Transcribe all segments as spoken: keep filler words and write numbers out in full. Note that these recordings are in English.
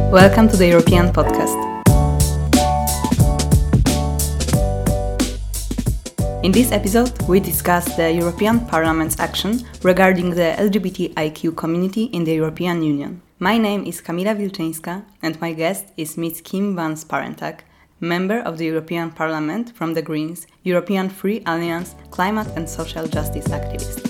Welcome to the European Podcast. In this episode, we discuss the European Parliament's action regarding the L G B T I Q community in the European Union. My name is Kamila Wilczyńska and my guest is Miz Kim van Sparentak, member of the European Parliament from the Greens, European Free Alliance, climate and social justice activist.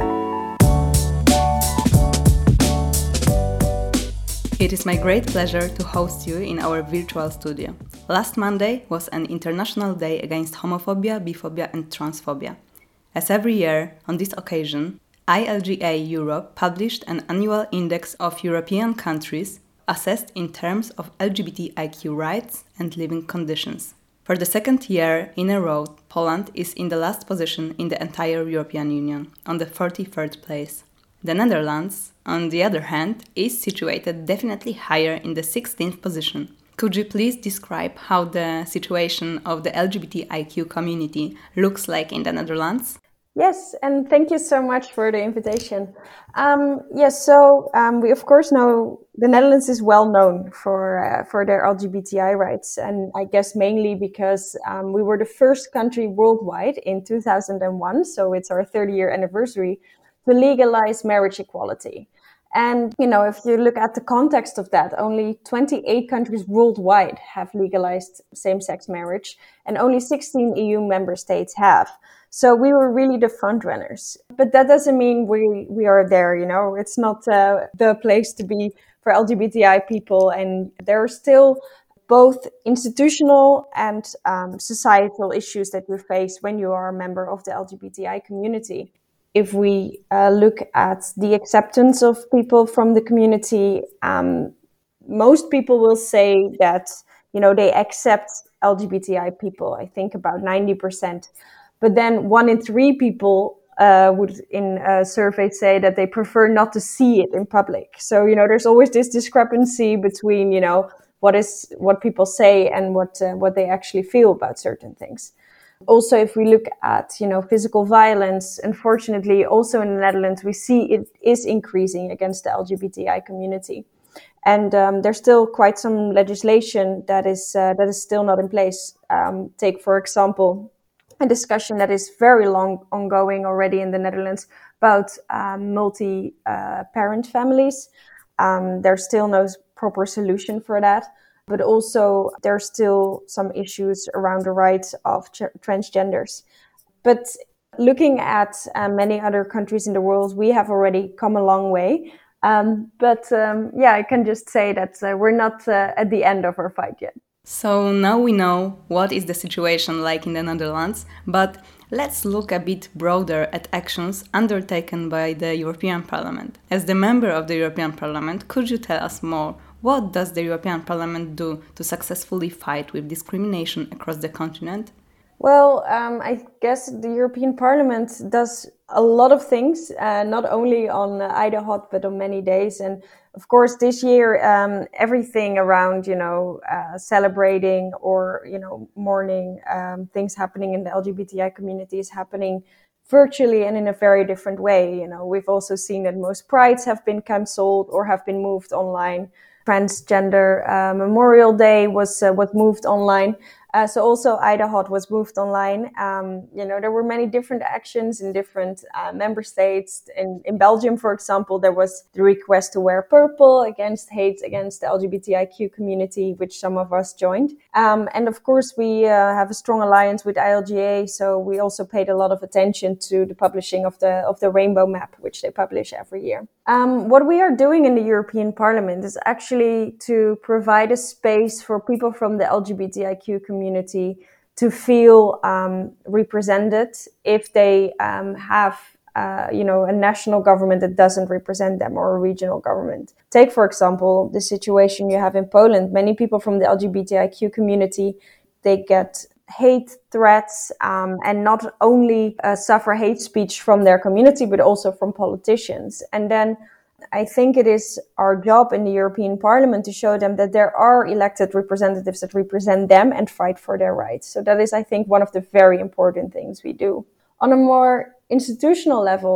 It is my great pleasure to host you in our virtual studio. Last Monday was an International Day Against Homophobia, Biphobia and Transphobia. As every year, on this occasion, I L G A Europe published an annual index of European countries assessed in terms of L G B T I Q rights and living conditions. For the second year in a row, Poland is in the last position in the entire European Union, on the forty-third place. The Netherlands, on the other hand, is situated definitely higher in the sixteenth position. Could you please describe how the situation of the L G B T I Q community looks like in the Netherlands? Yes, and thank you so much for the invitation. Um, yes, so um, we of course know the Netherlands is well known for uh, for their L G B T I rights, and I guess mainly because um, we were the first country worldwide in two thousand one, so it's our thirty-year anniversary, to legalize marriage equality. And, you know, if you look at the context of that, only twenty-eight countries worldwide have legalized same-sex marriage and only sixteen E U member states have. So we were really the front runners. But that doesn't mean we, we are there, you know, it's not uh, the place to be for L G B T I people. And there are still both institutional and um, societal issues that you face when you are a member of the L G B T I community. If we uh, look at the acceptance of people from the community, um, most people will say that, you know, they accept L G B T I people, I think about ninety percent. But then one in three people uh, would in a survey say that they prefer not to see it in public. So, you know, there's always this discrepancy between, you know, what is what people say and what uh, what they actually feel about certain things. Also, if we look at, you know, physical violence, unfortunately, also in the Netherlands, we see it is increasing against the L G B T I community. And um, there's still quite some legislation that is uh, that is still not in place. Um, take, for example, a discussion that is very long ongoing already in the Netherlands about um, multi-parent uh, families. Um, there's still no proper solution for that. But also there are still some issues around the rights of ch- transgenders. But looking at uh, many other countries in the world, we have already come a long way. Um, but um, yeah, I can just say that uh, we're not uh, at the end of our fight yet. So now we know what is the situation like in the Netherlands, but let's look a bit broader at actions undertaken by the European Parliament. As the member of the European Parliament, could you tell us more? What does the European Parliament do to successfully fight with discrimination across the continent? Well, um, I guess the European Parliament does a lot of things, uh, not only on uh, IDAHOT, but on many days. And of course, this year, um, everything around, you know, uh, celebrating or, you know, mourning um, things happening in the L G B T I community is happening virtually and in a very different way. You know, we've also seen that most prides have been cancelled or have been moved online. Transgender uh, Memorial Day was uh, was moved online. Uh, so also IDAHOT was moved online. Um, you know, there were many different actions in different uh, member states. In, in Belgium, for example, there was the request to wear purple against hate against the L G B T I Q community, which some of us joined. Um, and of course, we uh, have a strong alliance with I L G A, so we also paid a lot of attention to the publishing of the of the Rainbow Map, which they publish every year. Um, what we are doing in the European Parliament is actually to provide a space for people from the L G B T I Q community to feel um, represented if they um, have, uh, you know, a national government that doesn't represent them or a regional government. Take, for example, the situation you have in Poland. Many people from the L G B T I Q community, they get hate threats um, and not only uh, suffer hate speech from their community, but also from politicians. And then I think it is our job in the European Parliament to show them that there are elected representatives that represent them and fight for their rights. So that is, I think, one of the very important things we do. On a more institutional level,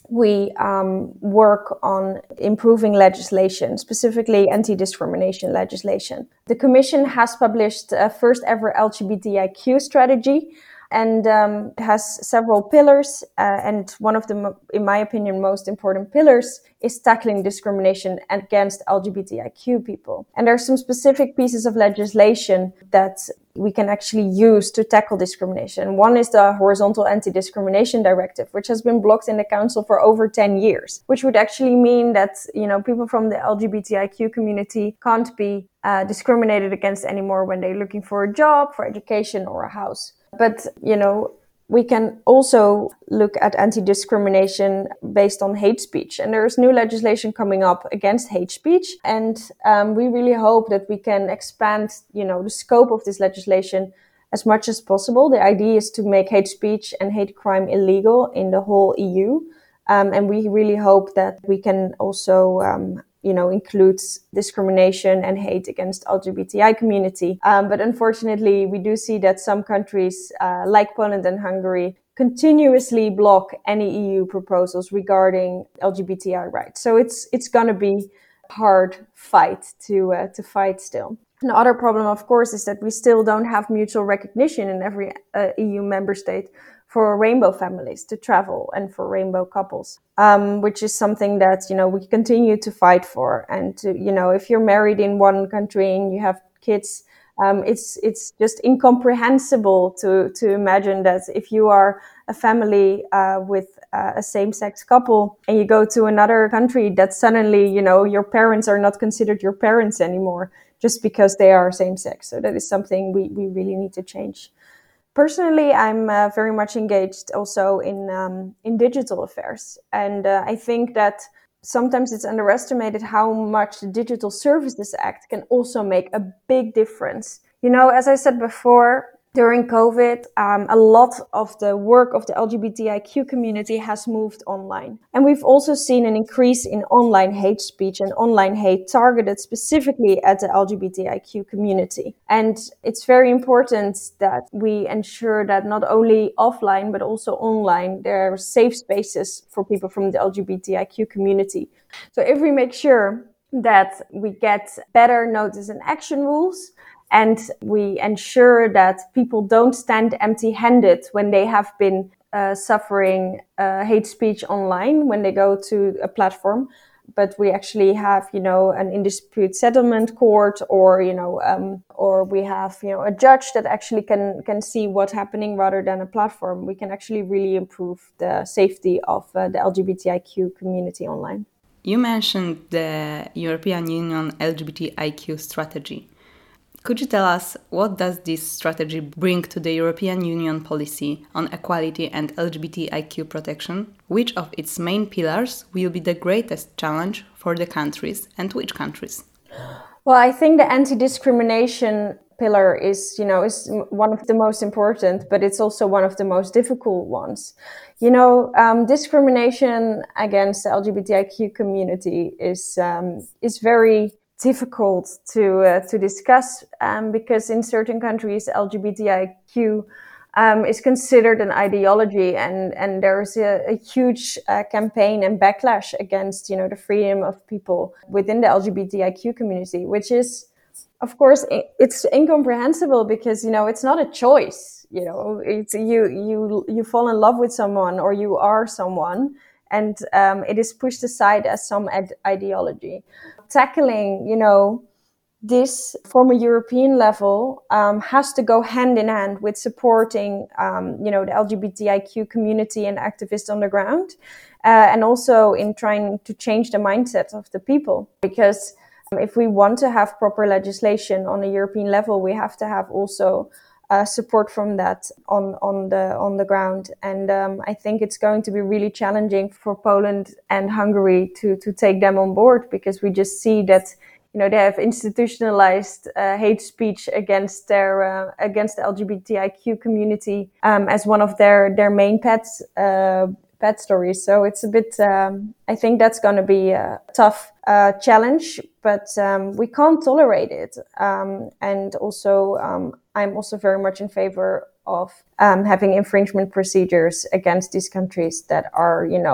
we um, work on improving legislation, specifically anti-discrimination legislation. The Commission has published a first ever L G B T I Q strategy, and um, it has several pillars. Uh, and one of the, in my opinion, most important pillars is tackling discrimination against L G B T I Q people. And there are some specific pieces of legislation that we can actually use to tackle discrimination. One is the Horizontal Anti-Discrimination Directive, which has been blocked in the Council for over ten years, which would actually mean that, you know, people from the L G B T I Q community can't be uh, discriminated against anymore when they're looking for a job, for education, or a house. But, you know, we can also look at anti-discrimination based on hate speech. And there's new legislation coming up against hate speech. And um, we really hope that we can expand, you know, the scope of this legislation as much as possible. The idea is to make hate speech and hate crime illegal in the whole E U. Um, and we really hope that we can also um, you know, includes discrimination and hate against L G B T I community. Um, but unfortunately, we do see that some countries uh, like Poland and Hungary continuously block any E U proposals regarding L G B T I rights. So it's it's going to be a hard fight to uh, to fight still. Another problem, of course, is that we still don't have mutual recognition in every uh, E U member state for rainbow families to travel and for rainbow couples, um, which is something that, you know, we continue to fight for. And, to, you know, if you're married in one country and you have kids, um, it's it's just incomprehensible to, to imagine that if you are a family uh, with uh, a same-sex couple and you go to another country, that suddenly, you know, your parents are not considered your parents anymore just because they are same-sex. So that is something we, we really need to change. Personally, I'm uh, very much engaged also in um, in digital affairs. And uh, I think that sometimes it's underestimated how much the Digital Services Act can also make a big difference. You know, as I said before, during COVID, um, a lot of the work of the L G B T I Q community has moved online. And we've also seen an increase in online hate speech and online hate targeted specifically at the L G B T I Q community. And it's very important that we ensure that not only offline, but also online, there are safe spaces for people from the L G B T I Q community. So if we make sure that we get better notice and action rules, and we ensure that people don't stand empty-handed when they have been uh, suffering uh, hate speech online when they go to a platform, but we actually have, you know, an in-dispute settlement court, or, you know, um, or we have, you know, a judge that actually can can see what's happening rather than a platform. We can actually really improve the safety of uh, the L G B T I Q community online. You mentioned the European Union L G B T I Q strategy. Could you tell us what does this strategy bring to the European Union policy on equality and L G B T I Q protection? Which of its main pillars will be the greatest challenge for the countries, and which countries? Well, I think the anti-discrimination pillar is, you know, is one of the most important, but it's also one of the most difficult ones. You know, um, discrimination against the L G B T I Q community is um, is very difficult to uh, to discuss um, because in certain countries L G B T I Q um, is considered an ideology, and and there's a, a huge uh, campaign and backlash against, you know, the freedom of people within the L G B T I Q community, which is, of course, it's incomprehensible because, you know, it's not a choice. You know, it's you you you fall in love with someone or you are someone, and um, it is pushed aside as some ad- ideology. Tackling, you know, this from a European level um, has to go hand in hand with supporting, um, you know, the L G B T I Q community and activists on the ground, uh, and also in trying to change the mindset of the people. Because um, if we want to have proper legislation on a European level, we have to have also uh, support from that on on the on the ground. And um, I think it's going to be really challenging for Poland and Hungary to to take them on board, because we just see that, you know, they have institutionalized uh, hate speech against their uh, against the L G B T I Q community um, as one of their their main pets uh, pet stories. So it's a bit. Um, I think that's going to be a tough uh, challenge, but um, we can't tolerate it. Um, and also, um, I'm also very much in favor of um, having infringement procedures against these countries that are, you know,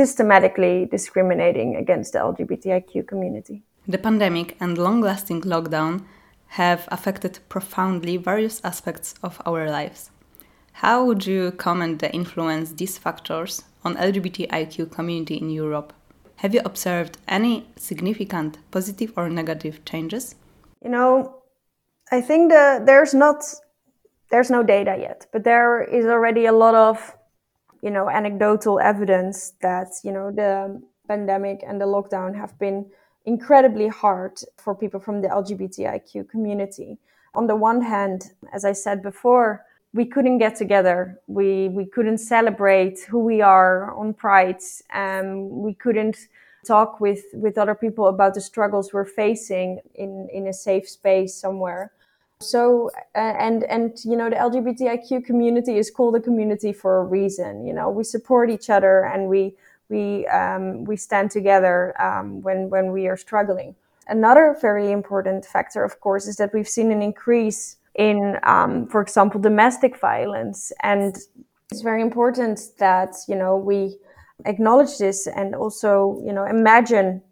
systematically discriminating against the L G B T I Q community. The pandemic and long-lasting lockdown have affected profoundly various aspects of our lives. How would you comment the influence these factors on L G B T I Q community in Europe? Have you observed any significant positive or negative changes? You know, I think the, there's not there's no data yet, but there is already a lot of, you know, anecdotal evidence that, you know, the pandemic and the lockdown have been incredibly hard for people from the L G B T I Q community. On the one hand, as I said before, we couldn't get together. We we couldn't celebrate who we are on Pride. Um, we couldn't talk with, with other people about the struggles we're facing in, in a safe space somewhere. So, uh, and, and, you know, the L G B T I Q community is called a community for a reason. You know, we support each other and we, we, um, we stand together, um, when, when we are struggling. Another very important factor, of course, is that we've seen an increase in, um, for example, domestic violence. And it's very important that, you know, we acknowledge this and also, you know, imagine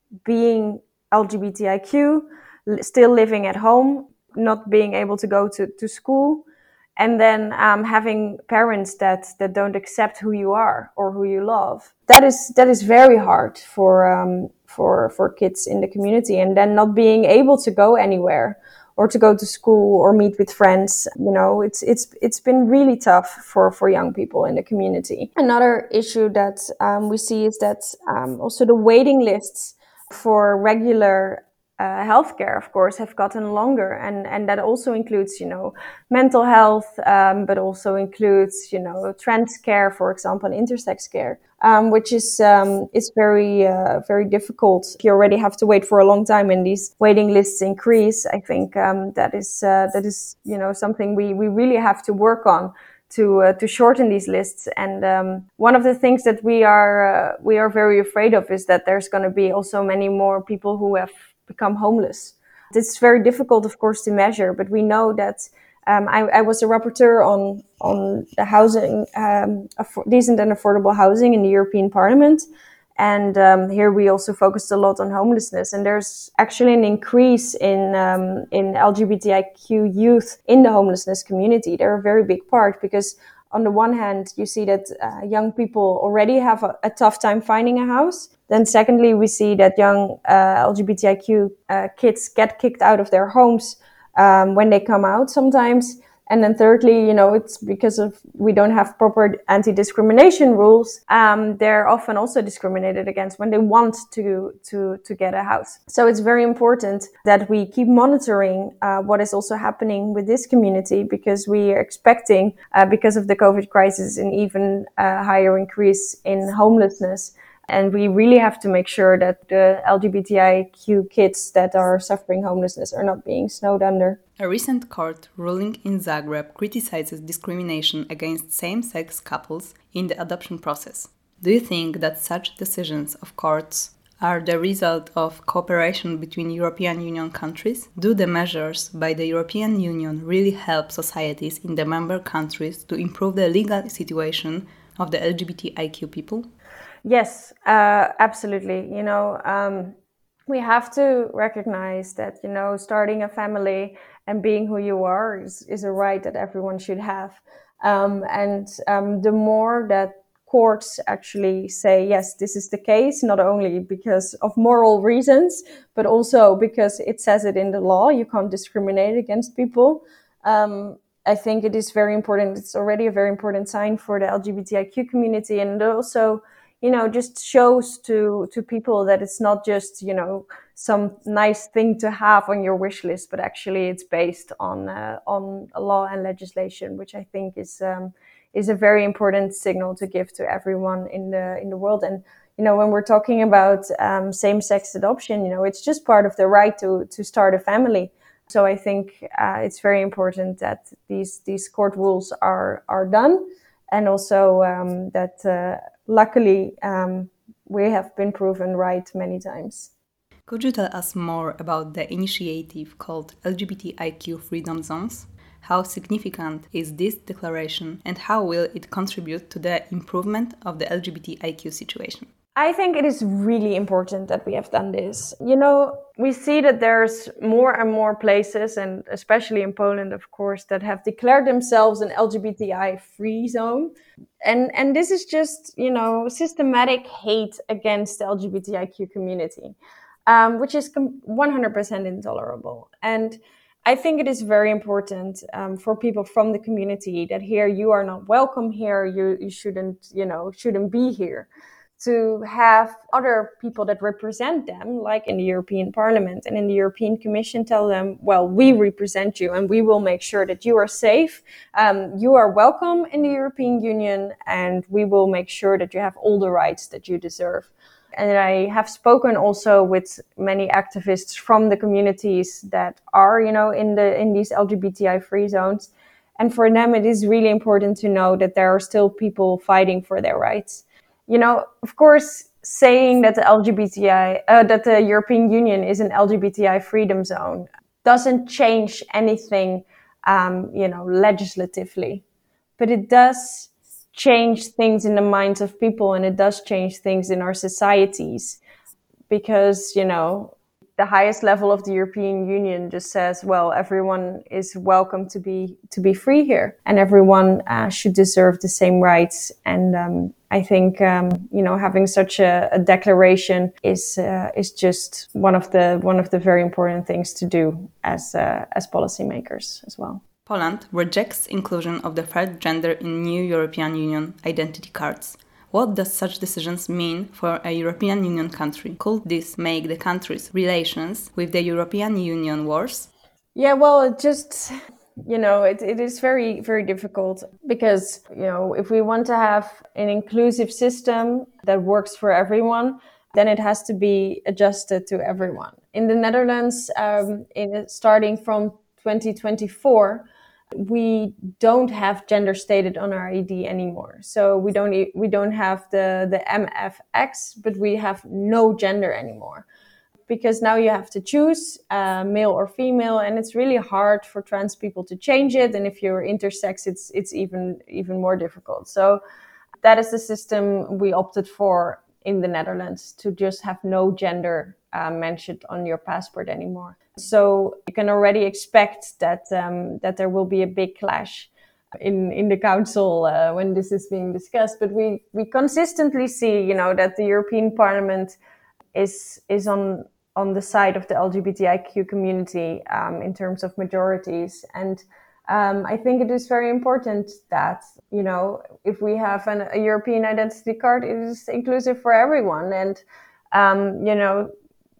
being L G B T I Q, still living at home, not being able to go to, to school, and then um, having parents that, that don't accept who you are or who you love. That is that is very hard for um, for for kids in the community, and then not being able to go anywhere or to go to school or meet with friends. You know, it's it's it's been really tough for, for young people in the community. Another issue that um, we see is that um, also the waiting lists for regular Uh, healthcare, of course, have gotten longer, and, and that also includes, you know, mental health, um, but also includes, you know, trans care, for example, and intersex care, um, which is um, is very uh, very difficult. You already have to wait for a long time, and these waiting lists increase. I think um, that is uh, that is you know something we we really have to work on to uh, to shorten these lists. And um, one of the things that we are uh, we are very afraid of is that there's going to be also many more people who have become homeless. It's very difficult, of course, to measure, but we know that um, I, I was a rapporteur on on the housing, um, aff- decent and affordable housing in the European Parliament, and um, here we also focused a lot on homelessness. And there's actually an increase in um, in L G B T I Q youth in the homelessness community. They're a very big part because, on the one hand, you see that uh, young people already have a, a tough time finding a house. Then secondly, we see that young uh, L G B T I Q uh, kids get kicked out of their homes um, when they come out sometimes. And then thirdly, you know, it's because of we don't have proper anti-discrimination rules. Um, they're often also discriminated against when they want to to to get a house. So it's very important that we keep monitoring uh, what is also happening with this community, because we are expecting, uh, because of the COVID crisis, an even uh, higher increase in homelessness. And we really have to make sure that the L G B T I Q kids that are suffering homelessness are not being snowed under. A recent court ruling in Zagreb criticizes discrimination against same-sex couples in the adoption process. Do you think that such decisions of courts are the result of cooperation between European Union countries? Do the measures by the European Union really help societies in the member countries to improve the legal situation of the L G B T I Q people? Yes, uh, absolutely. You know, um, we have to recognize that, you know, starting a family and being who you are is, is a right that everyone should have. Um, and um, the more that courts actually say, yes, this is the case, not only because of moral reasons, but also because it says it in the law, you can't discriminate against people. Um, I think it is very important. It's already a very important sign for the L G B T I Q community, and also, you know, just shows to, to people that it's not just, you know, some nice thing to have on your wish list, but actually it's based on uh, on a law and legislation, which I think is um, is a very important signal to give to everyone in the in the world. And, you know, when we're talking about um, same-sex adoption, you know, it's just part of the right to to start a family. So I think uh, it's very important that these these court rules are are done, and also um, that uh, luckily um, we have been proven right many times. Could you tell us more about the initiative called L G B T I Q Freedom Zones? how significant is this declaration and how will it contribute to the improvement of the L G B T I Q situation? I think it is really important that we have done this. You know, we see that there's more and more places, and especially in Poland, of course, that have declared themselves an L G B T I-free zone. And and this is just, you know, systematic hate against the L G B T I Q community, um, which is one hundred percent intolerable. And I think it is very important um, for people from the community that here you are not welcome here, you, you shouldn't, you know, shouldn't be here. To have other people that represent them, like in the European Parliament and in the European Commission, tell them, well, we represent you and we will make sure that you are safe. Um, you are welcome in the European Union and we will make sure that you have all the rights that you deserve. And I have spoken also with many activists from the communities that are, you know, in the in these L G B T I-free zones. And for them, it is really important to know that there are still people fighting for their rights. You know, of course, saying that the L G B T I, uh, that the European Union is an L G B T I freedom zone doesn't change anything, um, you know, legislatively, but it does change things in the minds of people, and it does change things in our societies, because, you know, the highest level of the European Union just says, well, everyone is welcome to be to be free here, and everyone uh, should deserve the same rights. And um, I think um, you know, having such a, a declaration is uh, is just one of the one of the very important things to do as uh, as policymakers as well. Poland rejects inclusion of the third gender in new European Union identity cards. What does such decisions mean for a European Union country? Could this make the country's relations with the European Union worse? Yeah, well, it just, you know, it, it is very, very difficult because, you know, if we want to have an inclusive system that works for everyone, then it has to be adjusted to everyone. In the Netherlands, um, in, starting from twenty twenty-four, we don't have gender stated on our I D anymore. So we don't we don't have the, the M F X, but we have no gender anymore. Because now you have to choose uh, male or female, and it's really hard for trans people to change it. And if you're intersex, it's it's even even more difficult. So that is the system we opted for in the Netherlands, to just have no gender uh, mentioned on your passport anymore. So you can already expect that um, that there will be a big clash in in the council uh, when this is being discussed. But we we consistently see, you know, that the European Parliament is is on on the side of the L G B T I Q community um, in terms of majorities. And um, I think it is very important that, you know, if we have an, a European identity card, it is inclusive for everyone. And, um, you know,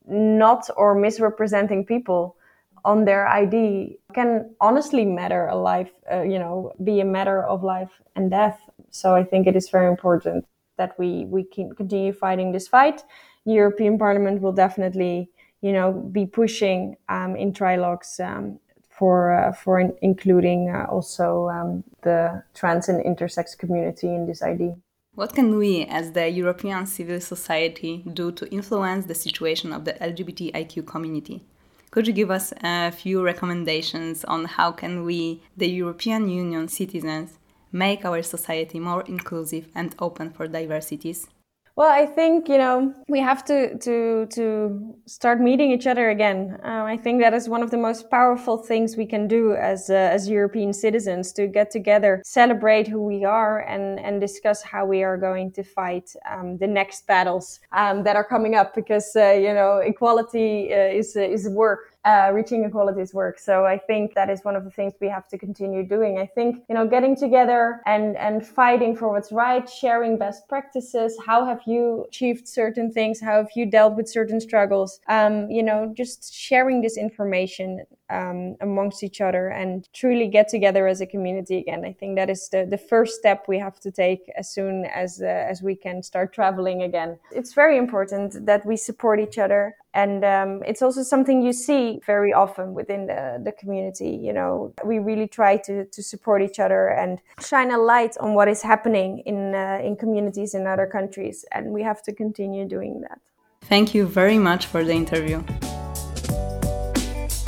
not or misrepresenting people on their I D can honestly matter a life, uh, you know, be a matter of life and death. So I think it is very important that we, we can continue fighting this fight. The European Parliament will definitely, you know, be pushing um, in trilogues um, for uh, for in- including uh, also um, the trans and intersex community in this I D. What can we, as the European civil society, do to influence the situation of the L G B T I Q community? Could you give us a few recommendations on how can we, the European Union citizens, make our society more inclusive and open for diversities? Well, I think, you know, we have to to to start meeting each other again. Um, I think that is one of the most powerful things we can do as uh, as European citizens, to get together, celebrate who we are, and and discuss how we are going to fight um, the next battles um, that are coming up. Because uh, you know, equality uh, is uh, is work. Uh, reaching equality is work. So I think that is one of the things we have to continue doing. I think, you know, getting together and, and fighting for what's right, sharing best practices. How have you achieved certain things? How have you dealt with certain struggles? Um, you know, just sharing this information um, amongst each other and truly get together as a community again. I think that is the, the first step we have to take as soon as, uh, as we can start traveling again. It's very important that we support each other. And um, it's also something you see very often within the, the community. You know, we really try to, to support each other and shine a light on what is happening in uh, in communities in other countries. And we have to continue doing that. Thank you very much for the interview.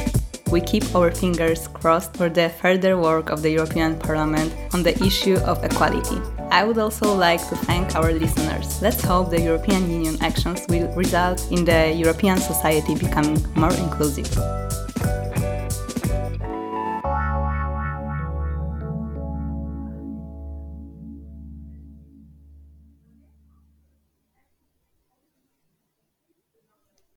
we keep our fingers crossed for the further work of the European Parliament on the issue of equality. I would also like to thank our listeners. Let's hope the European Union actions will result in the European society becoming more inclusive.